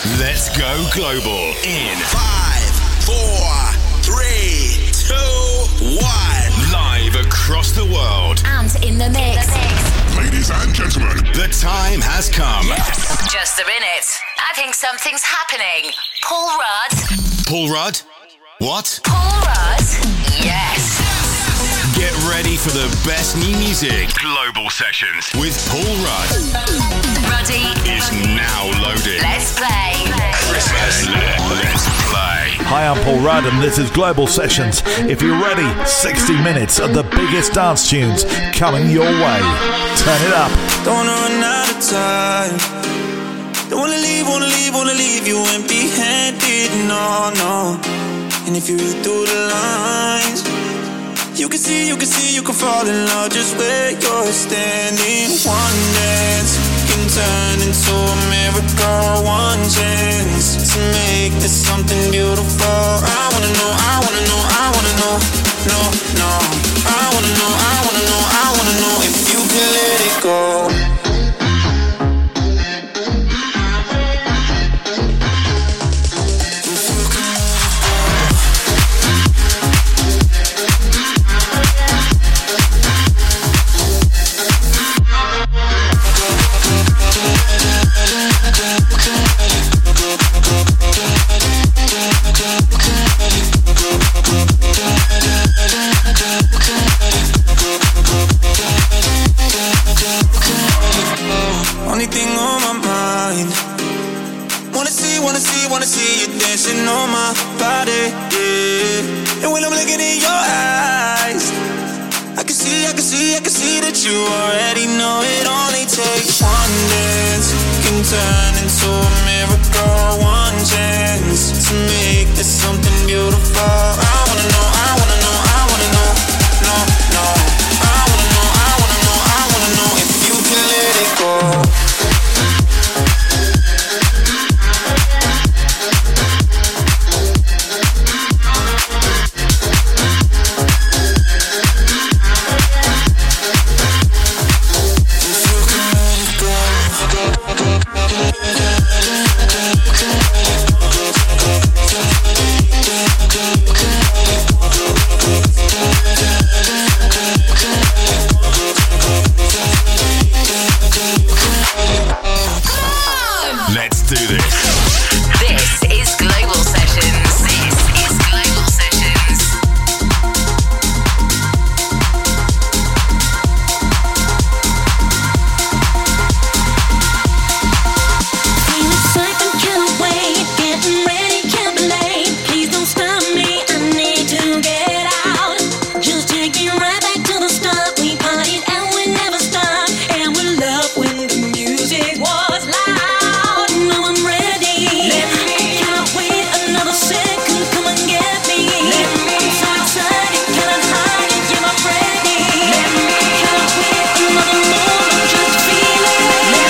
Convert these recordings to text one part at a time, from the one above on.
Let's go global in 5, 4, 3, 2, 1. Live across the world and in the mix. Ladies and gentlemen, the time has come. Just a minute. I think something's happening. Paul Rudd. Paul Rudd? What? Paul Rudd? Yes. Get ready for the best new music. Global Sessions with Paul Rudd. Ruddy Is now loaded. Let's play. Let's play. Hi, I'm Paul Rudd and this is Global Sessions. If you're ready, 60 minutes of the biggest dance tunes coming your way. Turn it up. Don't wanna run out of time. Don't wanna leave you empty-handed, no. And if you read through the lines, you can see, you can fall in love just where you're standing. One dance can turn into a miracle. One chance to make this something beautiful. I wanna know, no. I wanna know if you can let it go. Only thing on my mind, wanna see you dancing on my body, yeah. And when I'm looking in your eyes, I can see that you already know it only takes one dance can turn into a miracle. One chance to make this something beautiful. I wanna know, no. I wanna know if you can let it go. Let's do this. This is Global Sessions. Feel excitement, can't wait. Getting ready, can't be late. Please don't stop me, I need to get out. Just take me right back to the start. We partied and we never stopped. And we loved when the music was loud. Now I'm ready. I cannot wait another second. Come and get me. I'm so excited, cannot hide it. Yeah, I'm ready. Cannot wait another moment. Just feel it.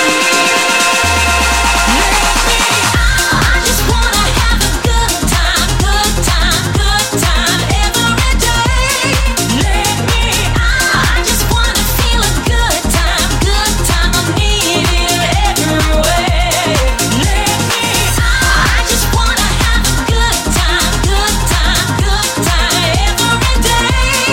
I just wanna have a good time every day. I just wanna feel a good time. I need it every way. I just wanna have a good time every day.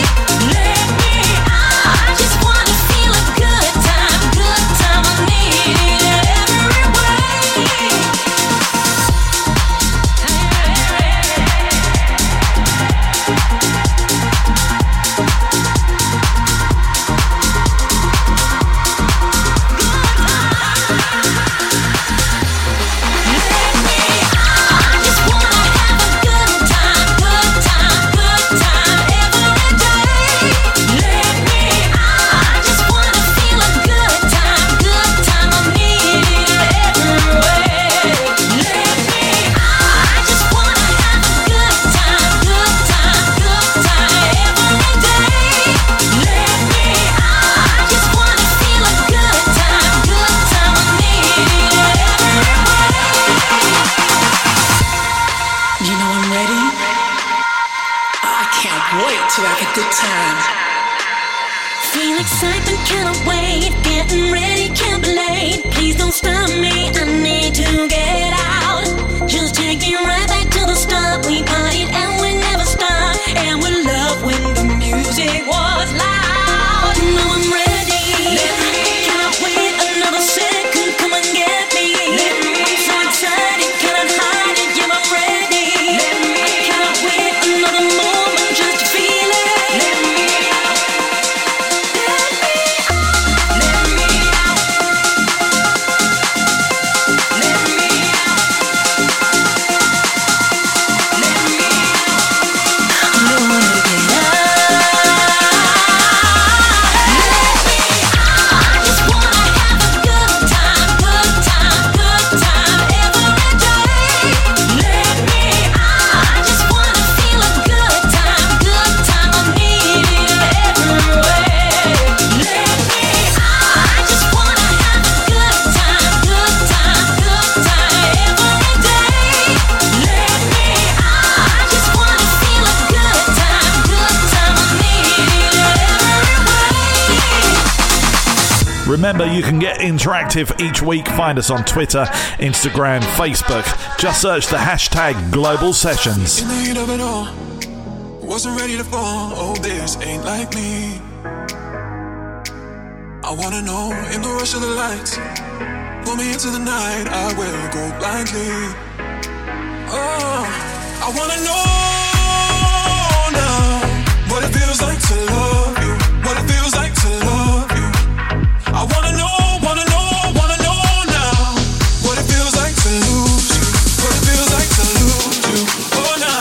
I just wanna feel a good time. I need it every way. I just wanna have a good time every day. I just wanna feel a good time. I need it every way. I just wanna have a good time every day. I just wanna feel a good time. I need it every way. You know I'm ready. I can't wait to have a good time. Feel excitement, cannot wait. Getting ready, can't be late. Please don't stop me, I need to get out. Remember, you can get interactive each week. Find us on Twitter, Instagram, Facebook. Just search the hashtag Global Sessions. In the heat of it all, wasn't ready to fall. Oh, this ain't like me. I wanna know, in the rush of the lights, pull me into the night, I will go blindly. Oh, I wanna know now what it feels like to love you, what it feels like to love you. I wanna know now what it feels like to lose you, what it feels like to lose you. Oh, now.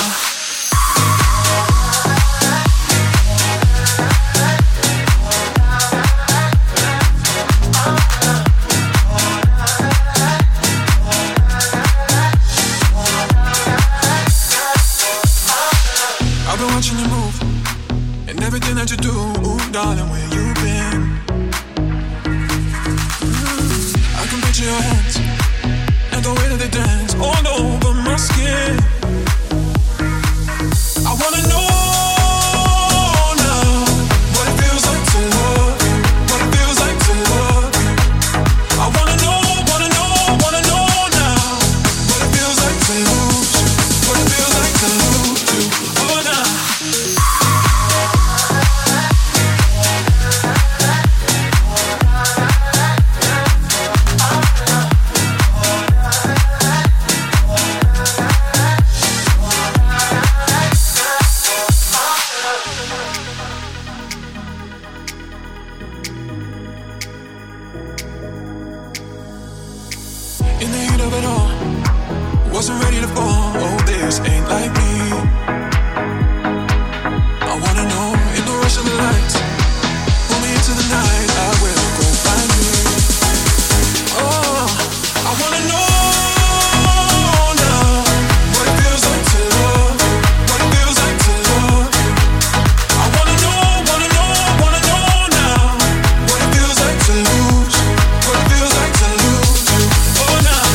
Watching you move and everything that you do, ooh, darling, where you been? I can picture your hands and the way that they dance all over my skin. I wanna know now what it feels like to love you, what it feels like to love you. I wanna know now what it feels like to lose you, what it feels like to lose you. Oh, now. In the heat of it all, wasn't ready to fall. Oh, this ain't like me. I wanna know, in the rush of the lights, pull me into the night, I will go find me. Oh, I wanna know now what it feels like to love you, what it feels like to love you. I wanna know now what it feels like to lose you, what it feels like to lose you. Oh, now.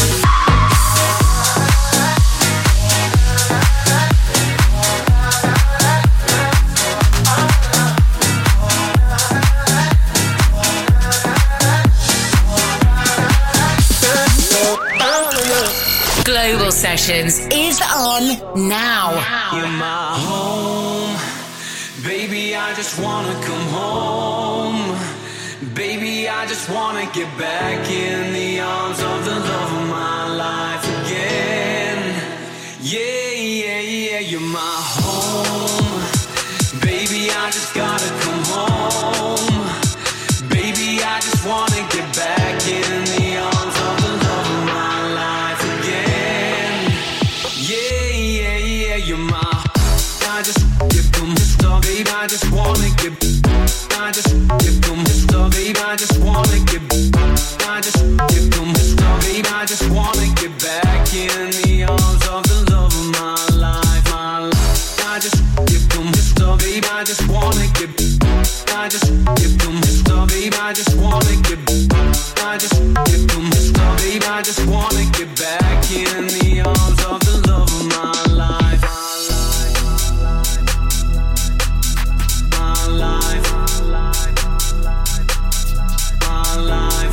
Global Sessions is on now. You're my home, baby, I just wanna come home. Baby, I just wanna get back in the arms of the love of my life again. Yeah, yeah, yeah, you're my home. Baby, I just gotta come home. Baby, I just wanna get back in the arms of the love of my life again. Yeah, yeah, yeah, you're my. I just get them stuff, baby. I just wanna get. I just get them stuff, baby. I just wanna get. I just get them stuff, baby. I just wanna get back in the arms of the love of my life, my life. I just get them stuff, baby. I just wanna get. I just get them stuff, baby. I just wanna get. I just get them stuff, baby. I just wanna get back in the arms of the love of my life. My life. My life.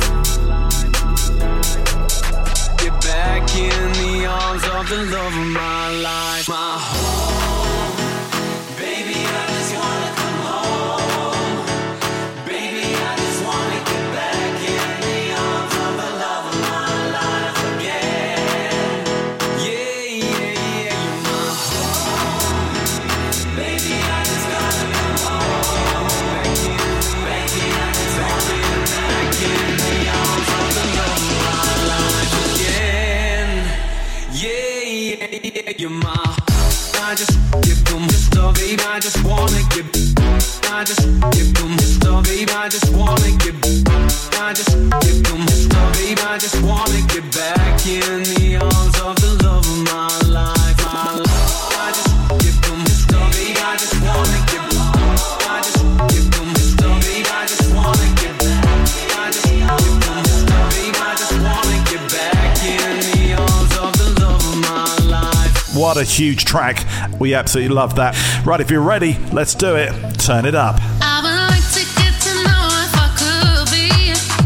Get back in the arms of the love of my life. My home. Baby, I just wanna come home. Baby, I just wanna get back in the arms of the love of my life again. Yeah, yeah, yeah, you're my home. Baby, I just gotta come home. Back in, baby, I just wanna get back in the arms of the love of my life again. Yeah, yeah, yeah, you're my. I just get them stuff, baby. I just wanna get. I just get them stuff, baby. I just wanna get. I just get them stuff, baby. I just wanna get back in the arms of the love of my life, my life. I just get them stuff, baby. I just wanna get. I just get them stuff, baby. I just wanna get. I just get them stuff, baby. I just wanna get back in the arms of the love of my life. What a huge track. We absolutely love that. Right, if you're ready, let's do it. Turn it up. I would like to get to know if I could be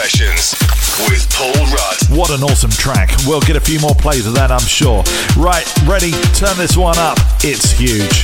Sessions with Paul Rudd. What an awesome track. We'll get a few more plays of that, I'm sure. Right, ready? Turn this one up. It's huge.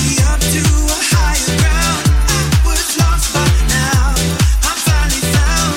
Lost, but now I'm finally found.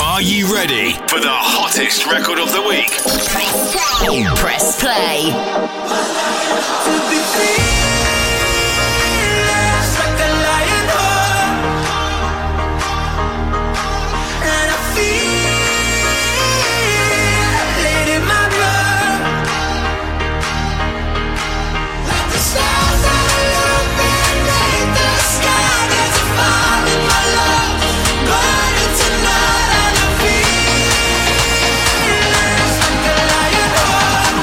Are you ready for the hottest record of the week? Press play. To be fearless like a lion heart, and I feel it in my blood, like the stars that illuminate the sky. There's a fire in my love, burning tonight, and I feel like a lion heart.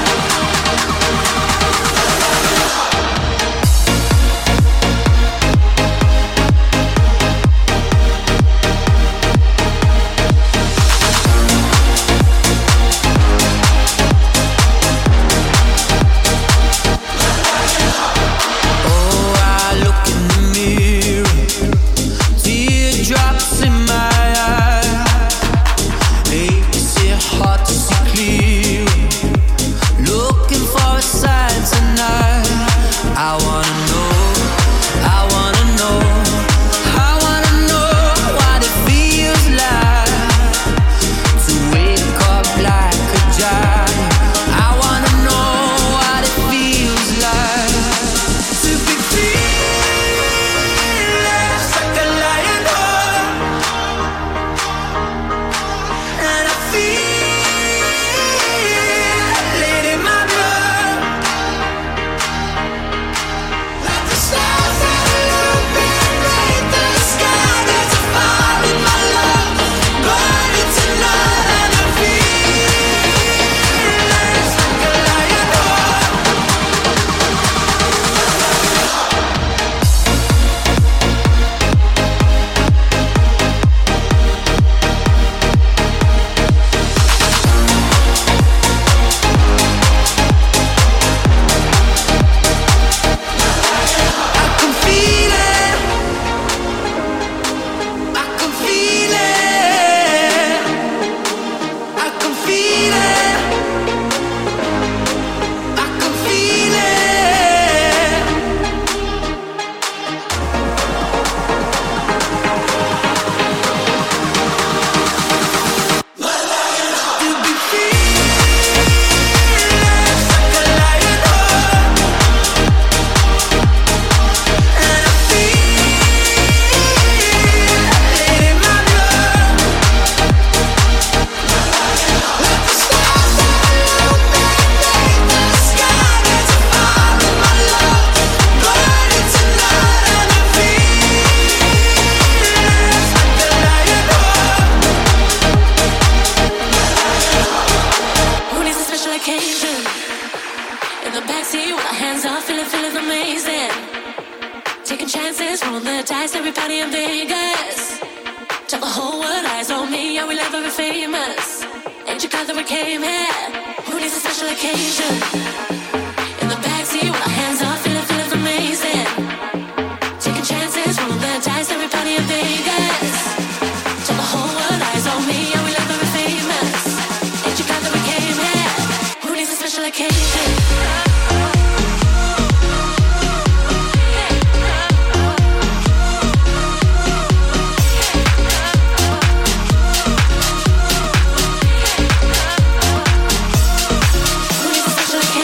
Special occasion.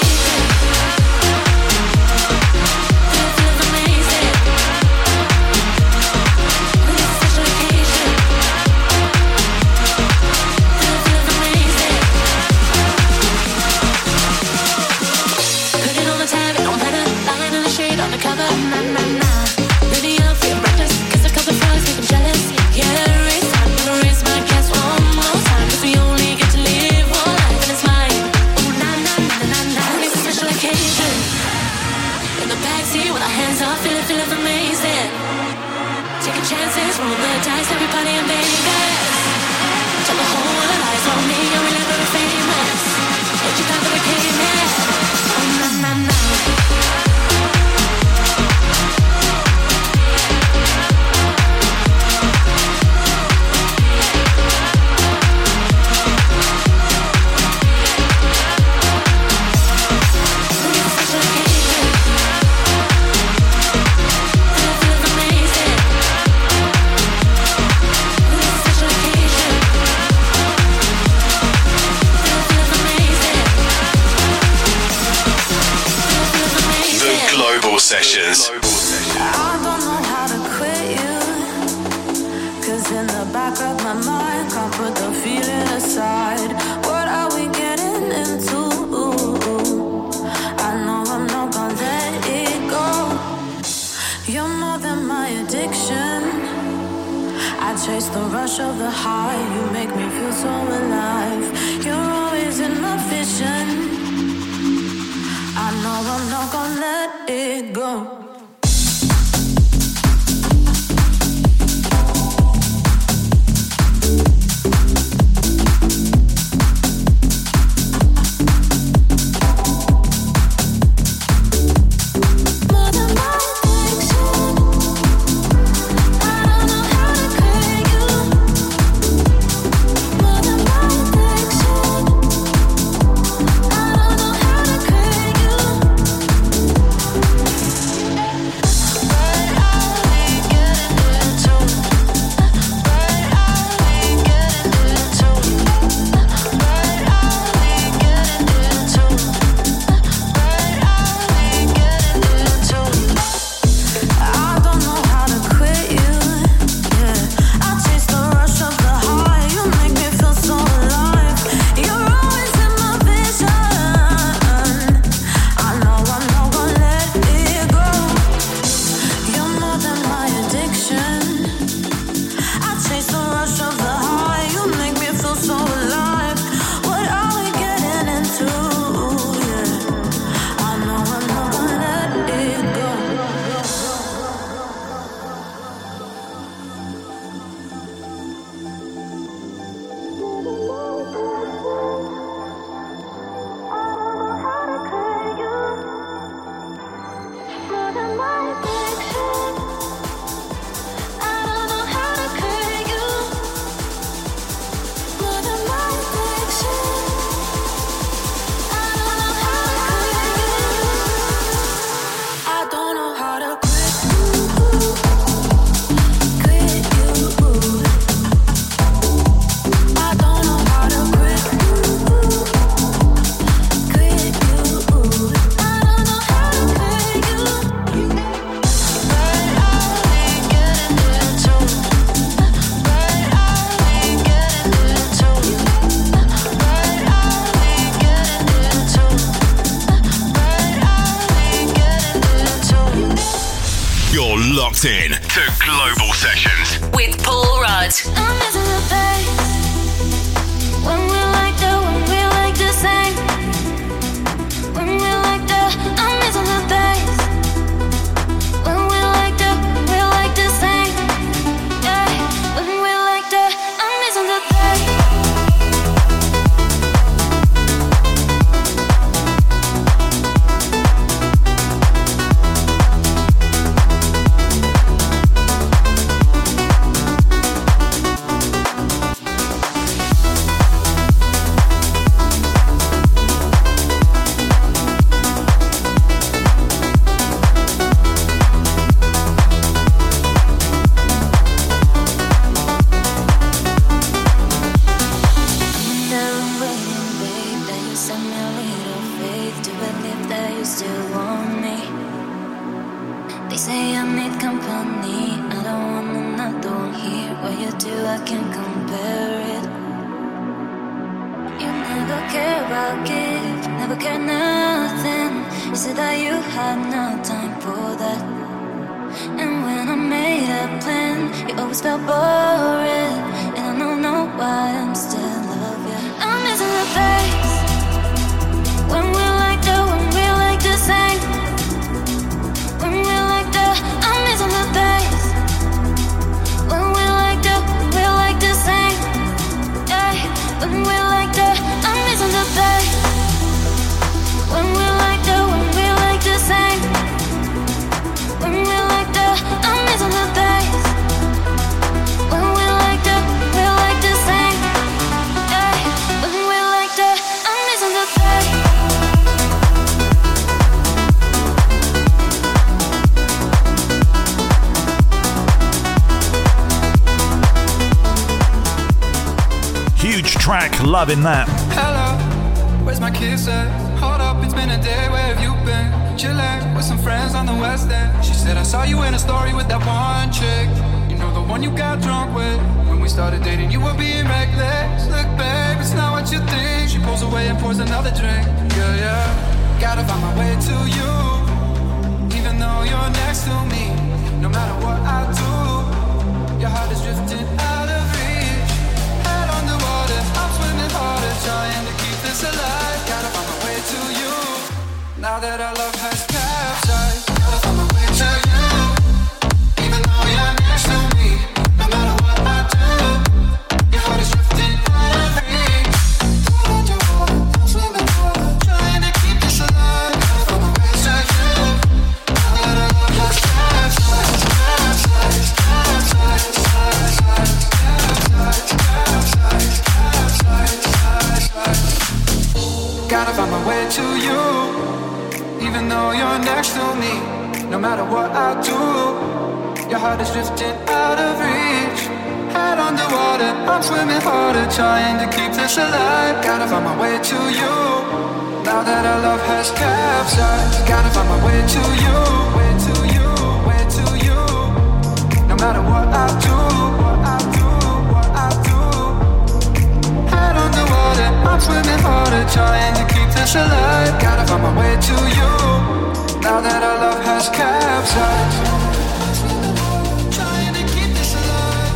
Sessions. I don't know how to quit you, 'cause in the back of my mind, can't put the feeling aside. What are we getting into? I know I'm not gonna let it go. You're more than my addiction. I chase the rush of the high. You make me feel so alive. You're always in my vision. I know I'm not gonna let it go. In to Global Sessions with Paul Rudd. I'm missing the face when we like the, when we like the same. When we like the, I'm missing the face when we like the, we like the same. Yeah, when we like the, I'm missing the face. Loving that. Hello, where's my kiss at? Hold up, it's been a day, where have you been? chillin' with some friends on the west end. She said I saw you in a story with that one chick. You know the one you got drunk with. When we started dating you were being reckless. Look babe, it's not what you think. She pulls away and pours another drink. Yeah, yeah. Gotta find my way to you. Even though you're next to me. No matter what I do, your heart is drifting out of reach. Head underwater, I'm swimming harder, trying to keep this alive. Gotta find my way to you. Now that our love has capsized, gotta find my way to you. Even though you're next to me, no matter what I do, your heart is drifting out of reach. Head underwater, I'm swimming harder, trying to keep this alive. Gotta find my way to you. Now that our love has capsized, capsized, capsized, capsized, capsized, capsized, capsized, capsized. Gotta find my way to you. Even though you're next to me, no matter what I do, your heart is drifting out of reach. Head underwater, I'm swimming harder, trying to keep this alive. Gotta find my way to you. Now that our love has capsized, gotta find my way to you. Way to you, way to you. No matter what I do, what I do, what I do. Head underwater, I'm swimming harder, trying to keep this alive. Gotta find my way to you. Now that our love has capsized, trying to keep this alive.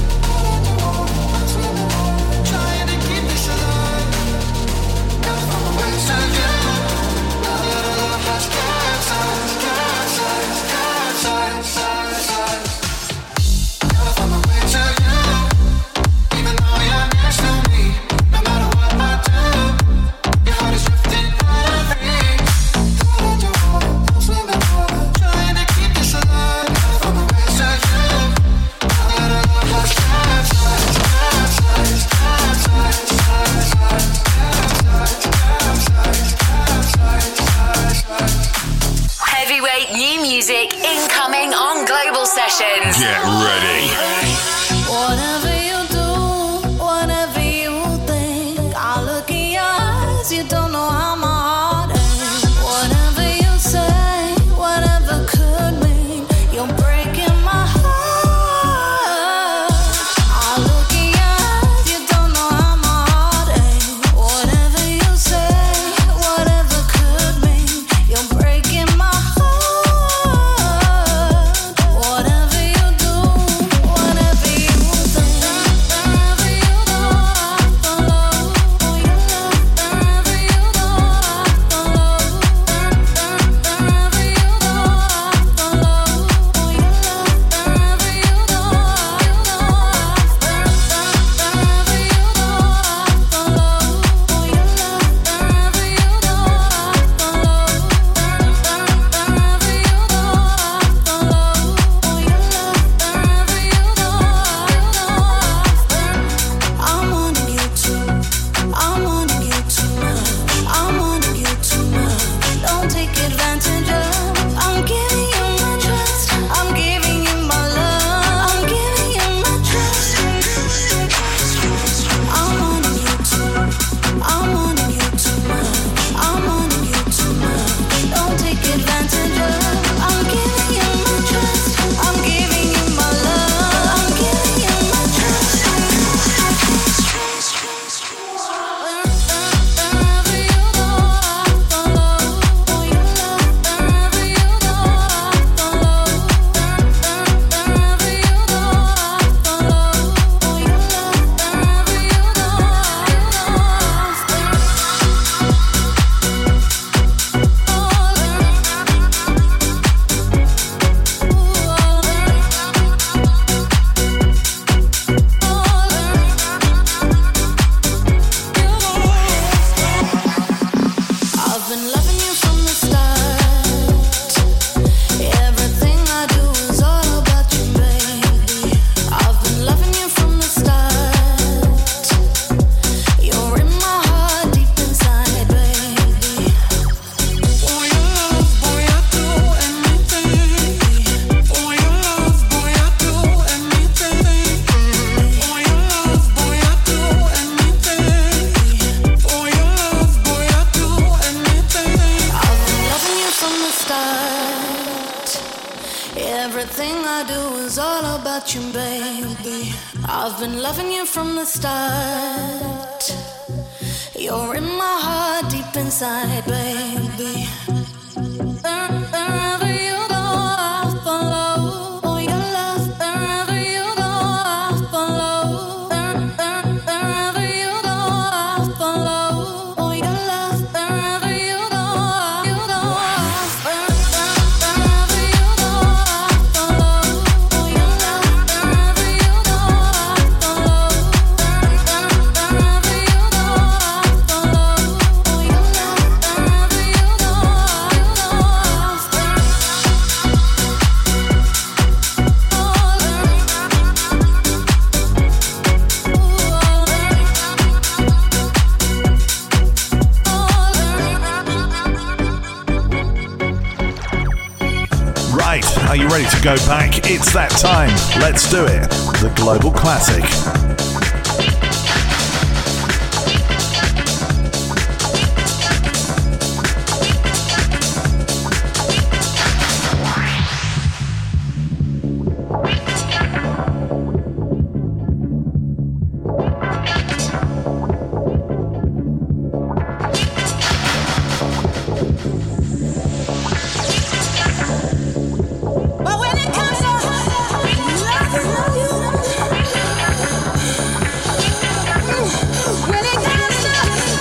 Trying to keep this alive. Gotta find my way to you. Now that our love has capsized, capsized, capsized, capsized. Gotta find my way to you. Even though you're next to me, no matter what I do, your heart is drifting out of reach. I'm swimming harder, trying to keep this alive. Gotta find my way to you. Now that our love has capsized, capsized, capsized, capsized, capsized, capsized, capsized, capsized. Heavyweight new music incoming on Global Sessions. Get ready. Whatever you do, whatever you think, I look in your eyes, you don't know how my heart aches. Whatever you say, whatever could mean, you're breaking my heart. I look in your eyes, you don't know how my heart aches. Whatever you say, whatever could mean, you're breaking my heart. Whatever you do, whatever about you, baby. I've been loving you from the start. You're in my heart, deep inside, baby. Wherever you go, I'll follow. Oh, your love. Wherever you go, I'll follow. Wherever you go, I'll follow. Oh, your love. Wherever you go, you go. Wherever you go, I'll follow. Oh, your love. Wherever you go, I'll follow. Wherever you go, I'll follow. Oh, your love. Wherever you go, you go. Right, are you ready to go back? It's that time. Let's do it. The Global Classic. But when it comes to love you, when it comes to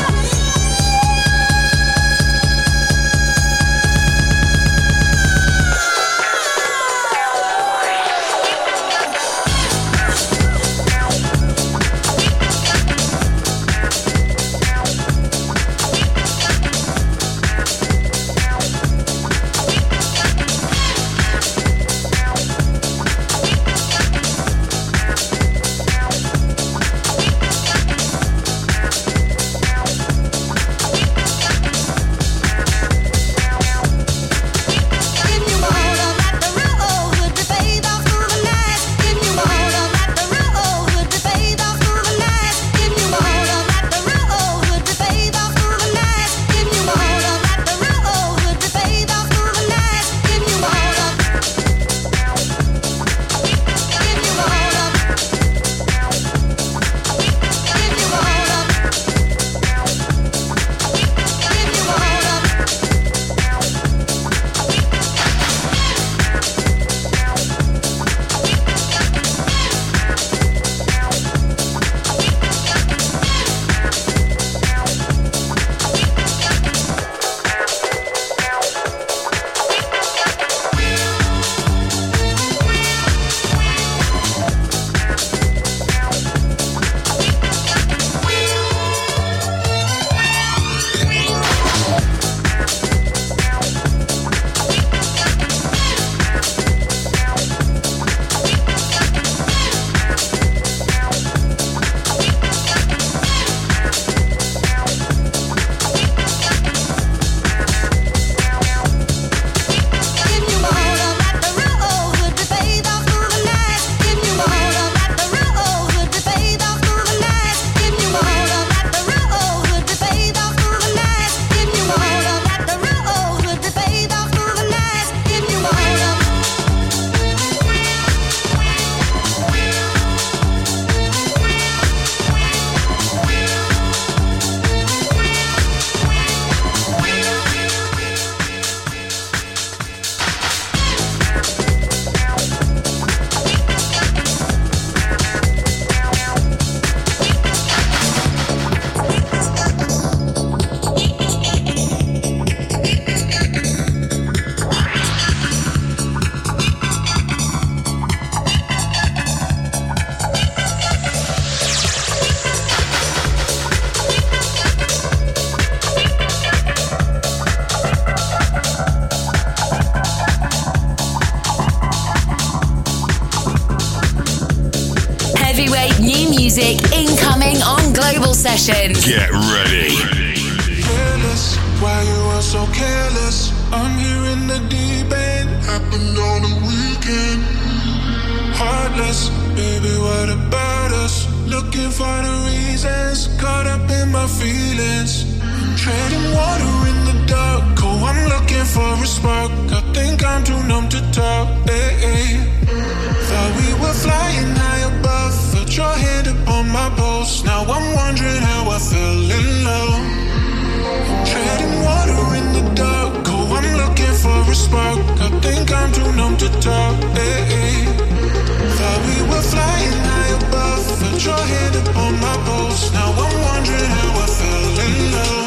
music incoming on Global Sessions. Get ready. Careless, why you are so careless? I'm here in the deep end, happened on the weekend. Heartless, baby, what about us? Looking for the reasons, caught up in my feelings. I'm treading water in the dark, oh, I'm looking for a spark. I think I'm too numb to talk. Thought we were flying high above. Felt your hand upon my pulse. Now I'm wondering how I fell in love. Treading water in the dark. Oh, I'm looking for a spark. I think I'm too numb to talk. Thought we were flying high above. Felt your hand upon my pulse. Now I'm wondering how I fell in love.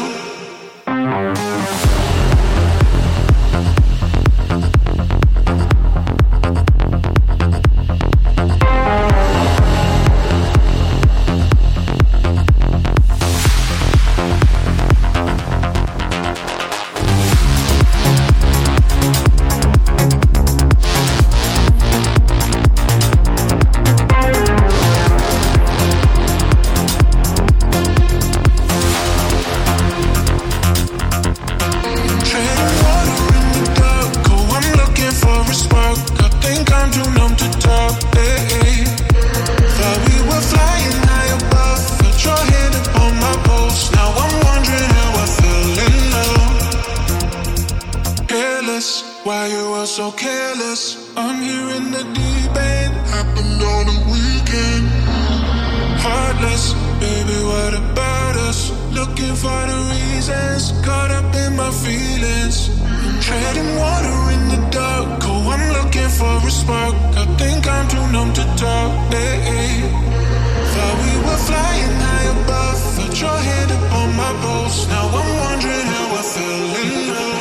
So careless, I'm here in the deep end. Happened on a weekend. Heartless, baby, what about us? Looking for the reasons, caught up in my feelings. I'm treading water in the dark. Oh, I'm looking for a spark. I think I'm too numb to talk. Thought we were flying high above. Felt your hand upon my pulse. Now I'm wondering how I fell in love.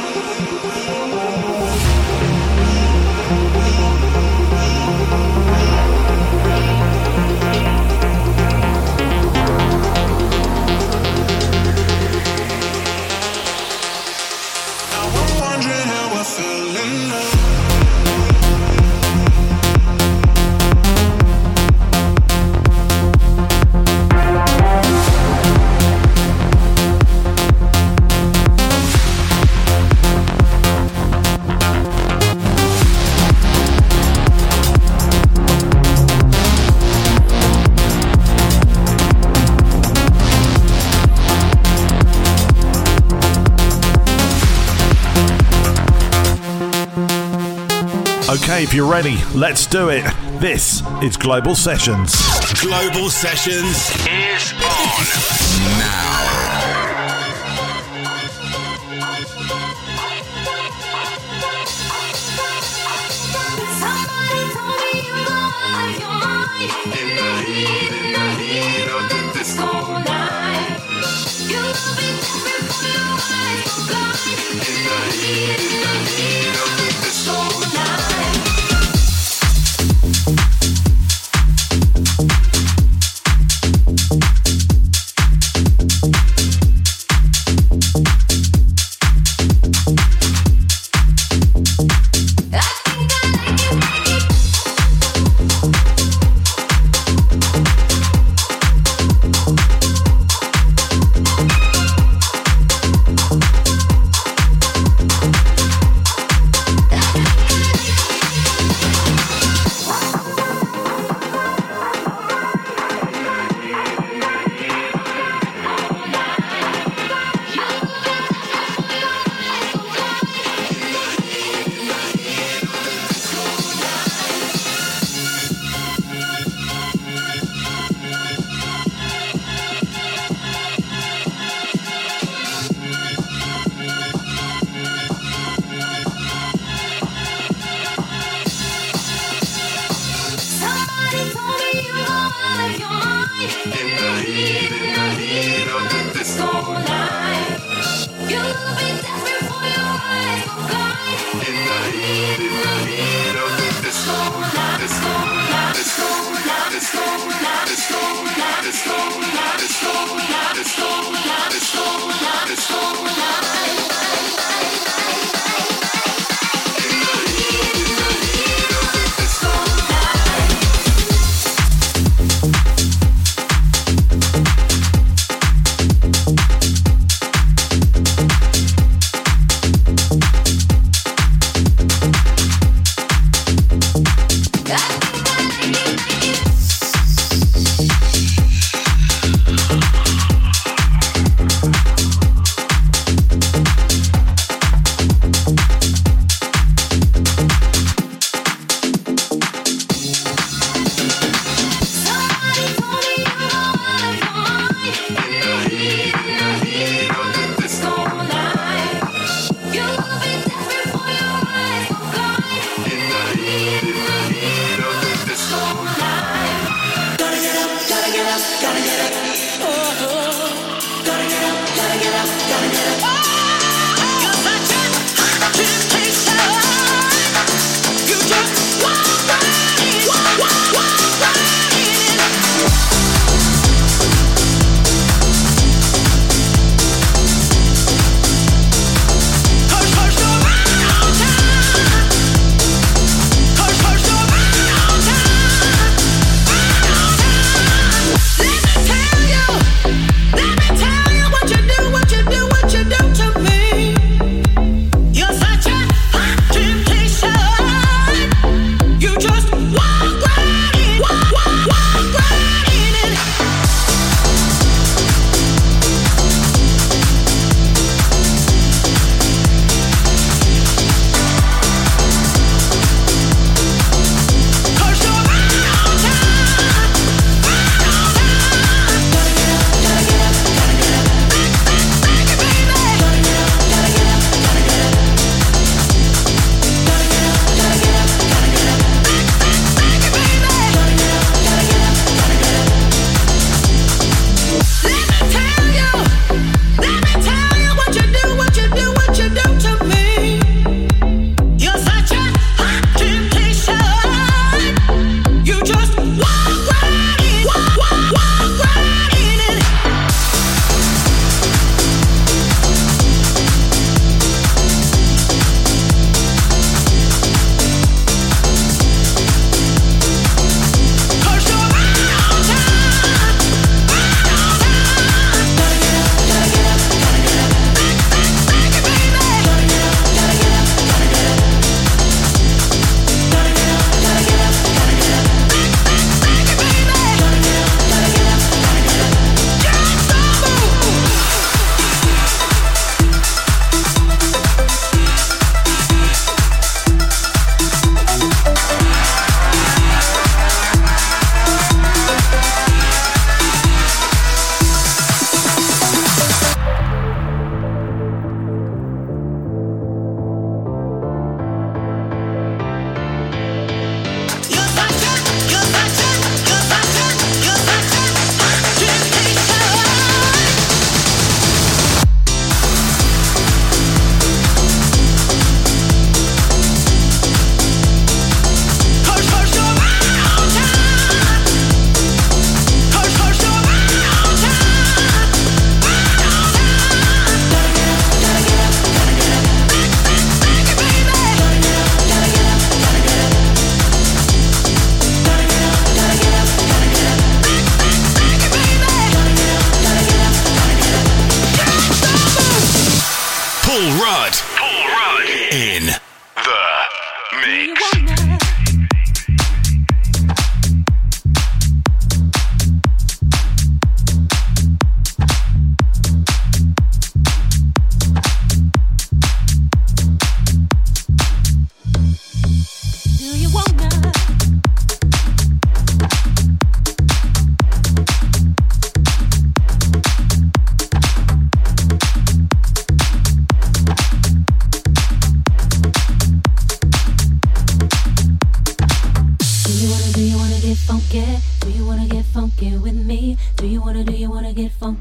Okay, if you're ready, let's do it. This is Global Sessions. Global Sessions is on now. Somebody told me you lost your mind in the heat of the disco night. You will be different from your eyes so blind in the heat of the disco night.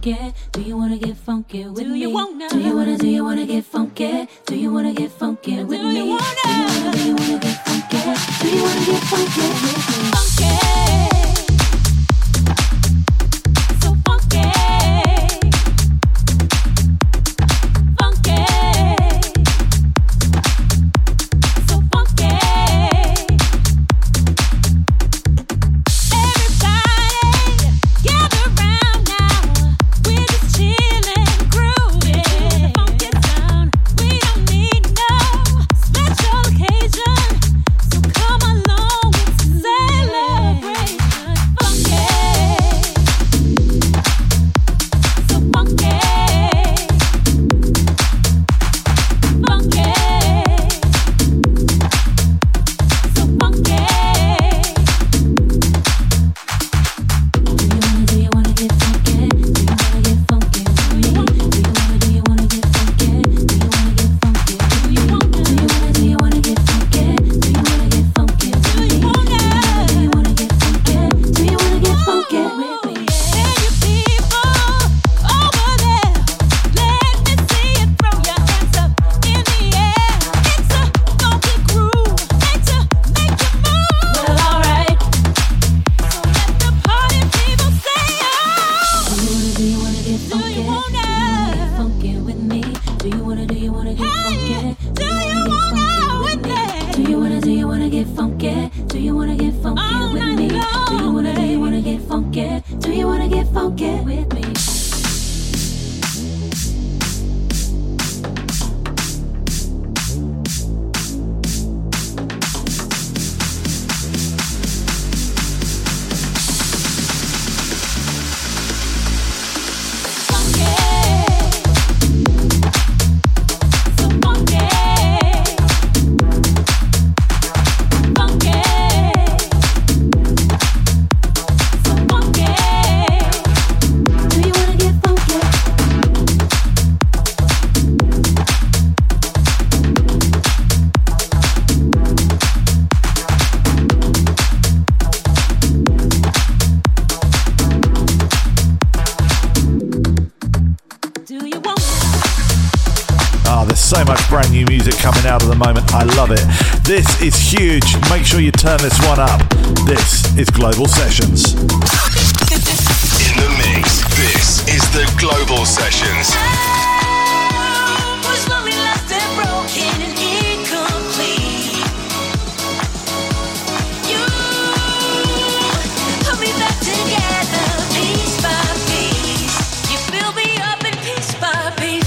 funky? Do you wanna get funky with me? Do you wanna get funky? Do you wanna get funky with me? Do you wanna get funky? Do you wanna get funky with me? Funky. So funky. Funky. So funky. Everybody gather round now. We're just chillin', groovin'. The funky sound. We don't need no special occasion. So come along with celebration. Funky. So funky. Funky. So funky. Do you wanna get funky? Do you wanna get funky with me? Do you wanna get funky? Do you wanna get funky with me? Do you wanna get funky? Do you wanna get funky with me? Do you wanna get funky? Do you wanna get funky with me? Hey, you people over there, let me see you throw your hands up in the air. It's a funky groove, made to make you move. Well, alright. So let the party people say, oh. Do you wanna get funky? Do you wanna get funky with me? Do you wanna get funky? Do you wanna with me? Do you wanna get funky? Do you wanna get funky with me? Do you wanna get funky? Do you wanna get funky with me? So much brand new music coming out at the moment. I love it. This is huge. Make sure you turn this one up. This is Global Sessions. In the mix, this is the Global Sessions. Was lonely, lost and broken and incomplete. You put me back together, piece by piece. You build me up in piece by piece.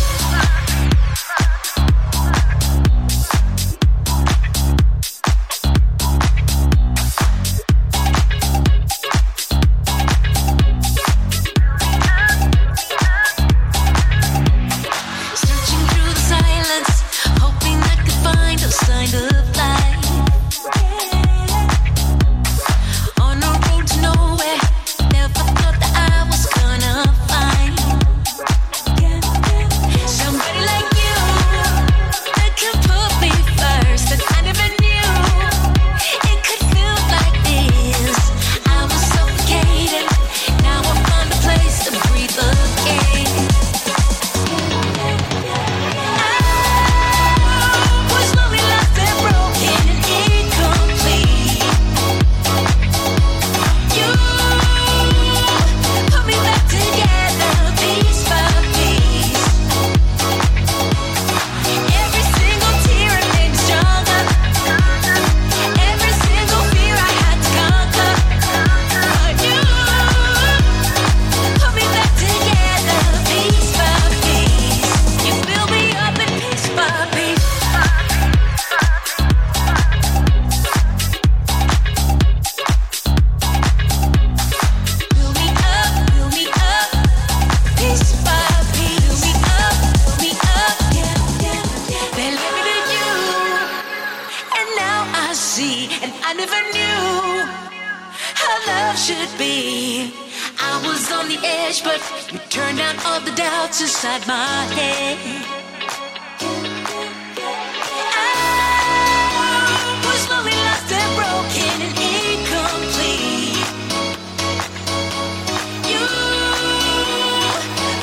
Searching through the silence, hoping I could find a sign of life. On a road to nowhere, never thought that I was gonna find somebody like you that could put me first. That I never knew it could feel like this. I was suffocating, now I found a place to breathe again. Was lonely, lost and broken and incomplete. You put me back together, piece by piece. Every single tear it made me stronger. Every single fear I had to conquer. But you put me back together, piece by piece. You build me up in piece by piece. Build me up, piece by piece. Build me up, yeah. They led me to you, and now I see, and I never knew how love should be. I was on the edge, but you turned down all the doubts inside my head. I was lonely, lost and broken and incomplete. You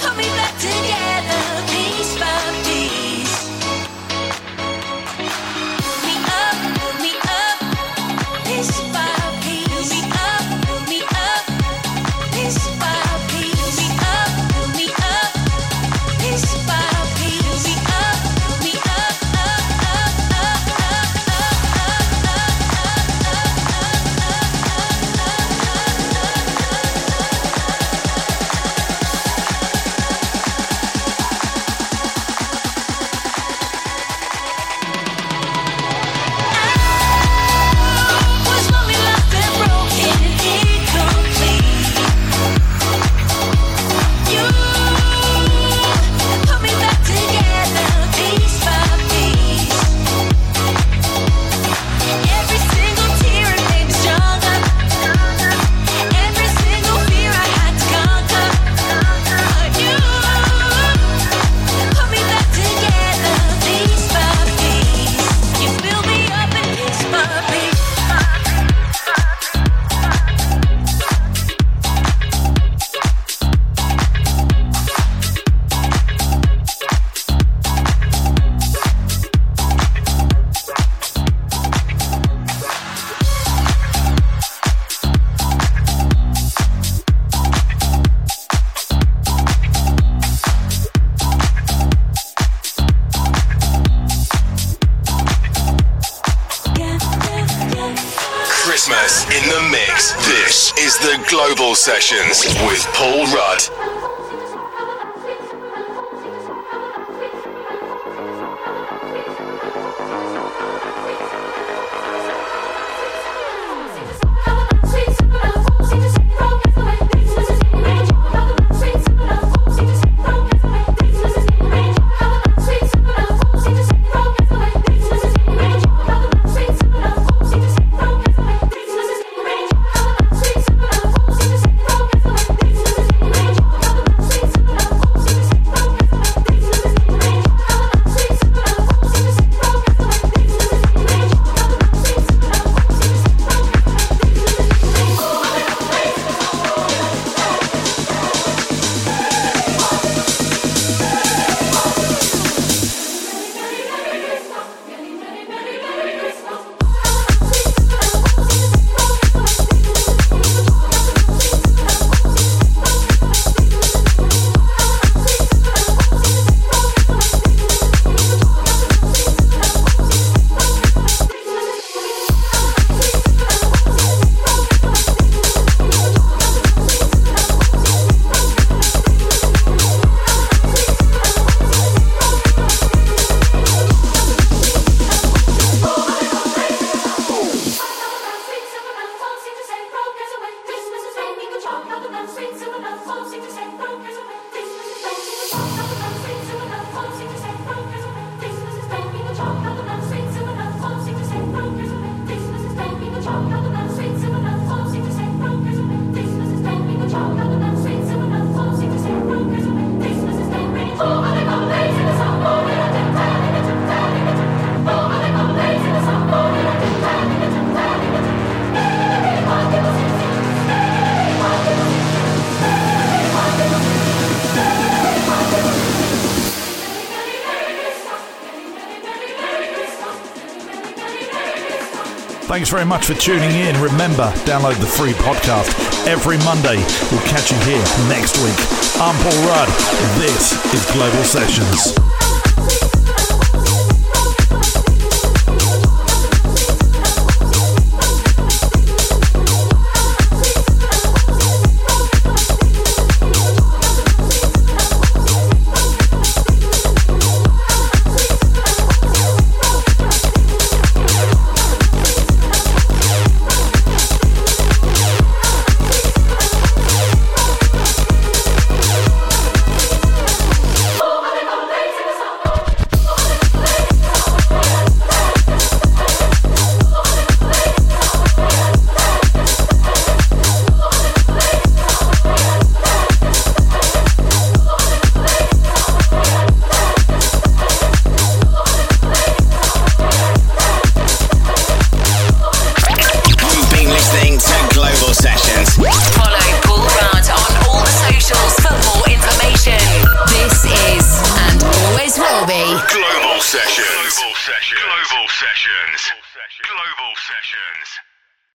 is the Global Sessions with Paul Rudd. Thanks very much for tuning in. Remember, download the free podcast every Monday. We'll catch you here next week. I'm Paul Rudd. This is Global Sessions. Global Sessions.